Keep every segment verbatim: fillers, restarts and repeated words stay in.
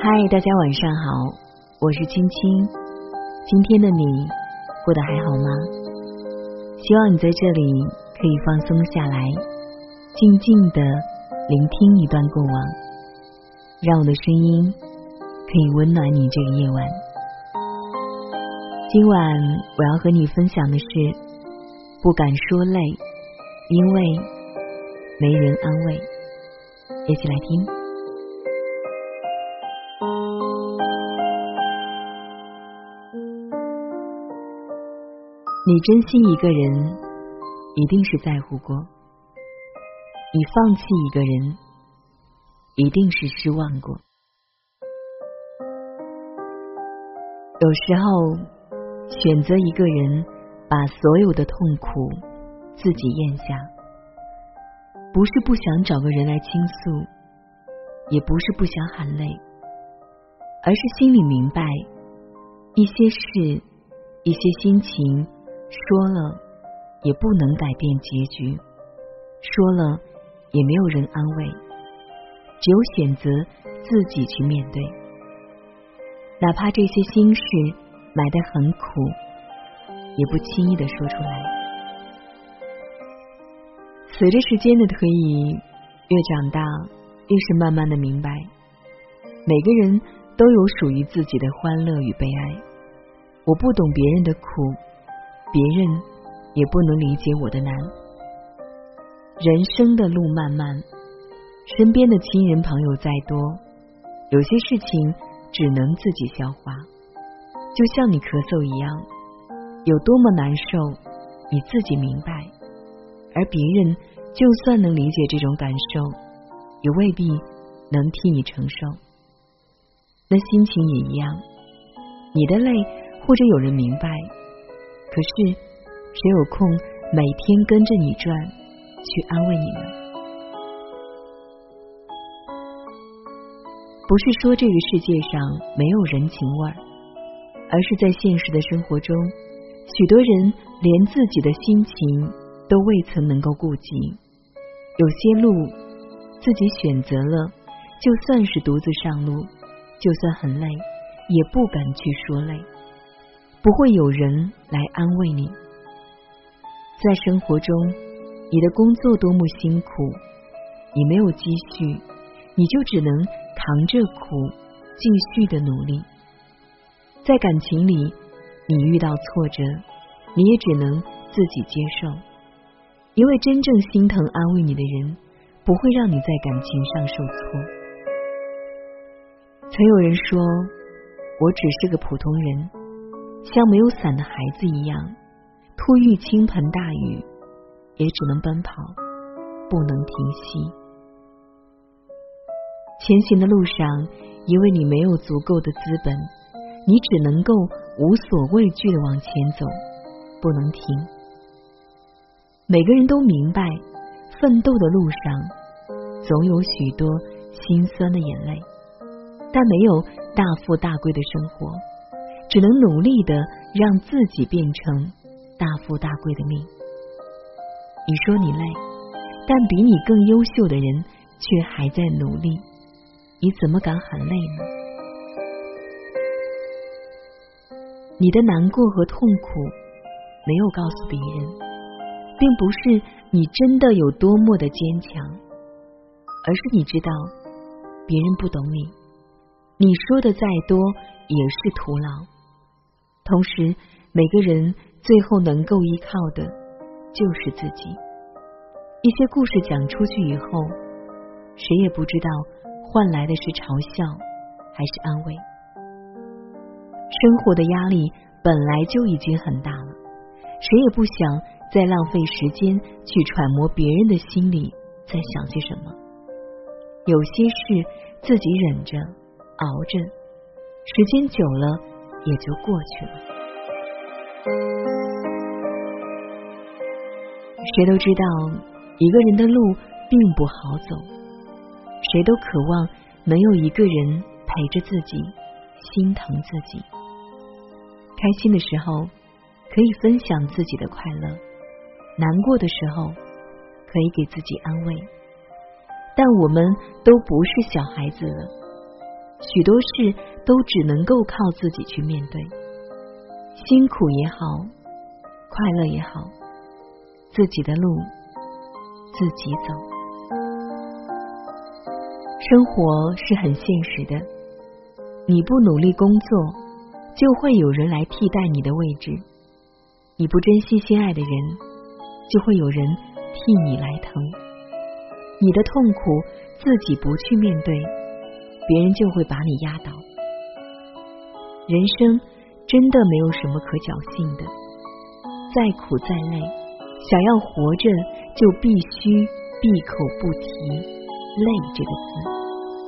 嗨，大家晚上好，我是青青。今天的你过得还好吗？希望你在这里可以放松下来，静静的聆听一段过往，让我的声音可以温暖你这个夜晚。今晚我要和你分享的是不敢说累，因为没人安慰。一起来听。你珍惜一个人，一定是在乎过；你放弃一个人，一定是失望过。有时候，选择一个人，把所有的痛苦自己咽下，不是不想找个人来倾诉，也不是不想喊累，而是心里明白，一些事，一些心情，说了也不能改变结局，说了也没有人安慰，只有选择自己去面对。哪怕这些心事埋得很苦，也不轻易地说出来。随着时间的推移，越长大越是慢慢的明白，每个人都有属于自己的欢乐与悲哀。我不懂别人的苦，别人也不能理解我的难。人生的路漫漫，身边的亲人朋友再多，有些事情只能自己消化。就像你咳嗽一样，有多么难受，你自己明白，而别人就算能理解这种感受，也未必能替你承受。那心情也一样，你的累或者有人明白，可是谁有空每天跟着你转，去安慰你呢？不是说这个世界上没有人情味儿，而是在现实的生活中，许多人连自己的心情都未曾能够顾及。有些路自己选择了，就算是独自上路，就算很累，也不敢去说累，不会有人来安慰你。在生活中，你的工作多么辛苦，你没有积蓄，你就只能扛着苦继续的努力。在感情里，你遇到挫折，你也只能自己接受，因为真正心疼安慰你的人，不会让你在感情上受挫。曾有人说，我只是个普通人，像没有伞的孩子一样，突遇倾盆大雨，也只能奔跑，不能停息。前行的路上，因为你没有足够的资本，你只能够无所畏惧地往前走，不能停。每个人都明白，奋斗的路上总有许多心酸的眼泪，但没有大富大贵的生活，只能努力地让自己变成大富大贵的命。你说你累，但比你更优秀的人却还在努力，你怎么敢喊累呢？你的难过和痛苦没有告诉别人，并不是你真的有多么的坚强，而是你知道别人不懂你，你说的再多也是徒劳。同时，每个人最后能够依靠的就是自己。一些故事讲出去以后，谁也不知道换来的是嘲笑还是安慰。生活的压力本来就已经很大了，谁也不想再浪费时间去揣摩别人的心里在想些什么。有些事自己忍着熬着，时间久了也就过去了。谁都知道一个人的路并不好走，谁都渴望能有一个人陪着自己，心疼自己。开心的时候可以分享自己的快乐，难过的时候可以给自己安慰。但我们都不是小孩子了， 许多事都只能够靠自己去面对，辛苦也好，快乐也好，自己的路自己走。生活是很现实的，你不努力工作，就会有人来替代你的位置；你不珍惜心爱的人，就会有人替你来疼。你的痛苦自己不去面对，别人就会把你压倒。人生真的没有什么可侥幸的，再苦再累，想要活着就必须闭口不提累这个字。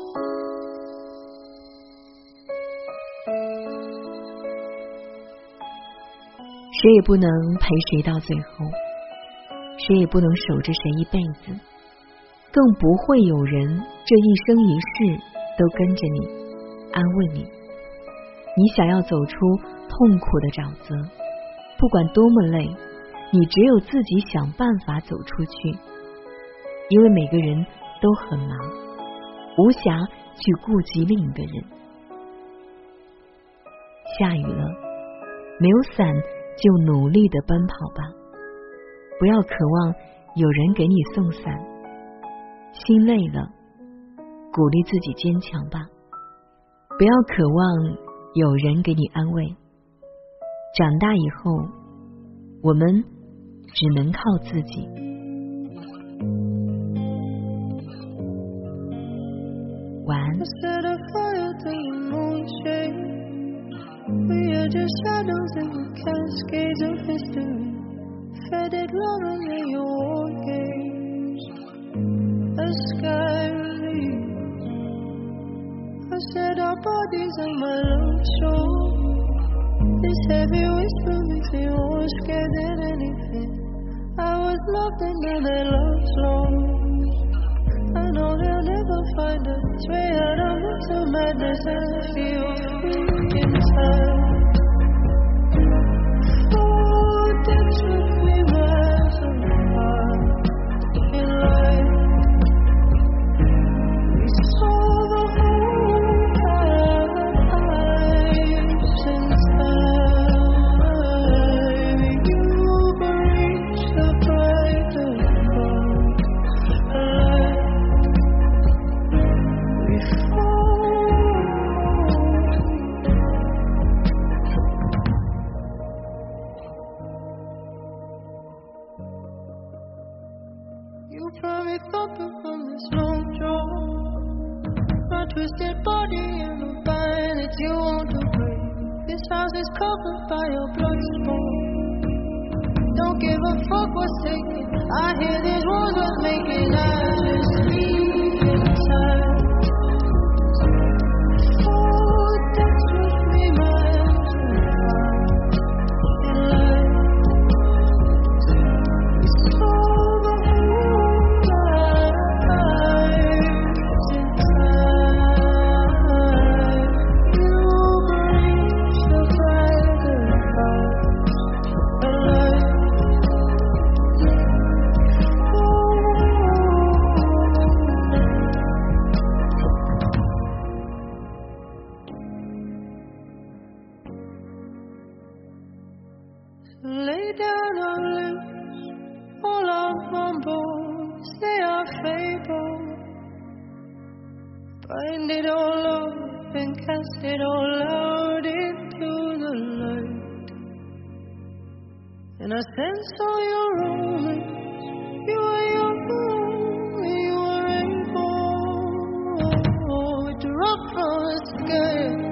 谁也不能陪谁到最后，谁也不能守着谁一辈子，更不会有人这一生一世都跟着你，安慰你。你想要走出痛苦的沼泽，不管多么累，你只有自己想办法走出去，因为每个人都很忙，无暇去顾及另一个人。下雨了，没有伞就努力地奔跑吧，不要渴望有人给你送伞。心累了，鼓励自己坚强吧，不要渴望有人给你安慰。长大以后，我们只能靠自己。晚安。 We are just shadows in the cascades of history, faded loving in your war games. The sky relieves. I said our bodies on my love shore. This heavy whisper makes me more scared than anything. I was loved and now that love's lost. I know they'll never find us. Way out of mental madness, I feel free inside. Oh, dance with me, miles apart in life. We saw the whole lives inside. You've reached the brightest part alive. You probably thought from this long draw, my twisted body and the vine that you want to break. This house is covered by your blood sport. Don't give a fuck what's taken. I hear these walls was making. I just sleep inside. Oh, dance with me, miles apart in life. We saw the whole lives inside. You reach the brighter part of life. Lay down our lips, all our mumbles, they are fable. Bind it all up and cast it all out into the light. And I sense all your romance, you are young, you are able to drop from the sky.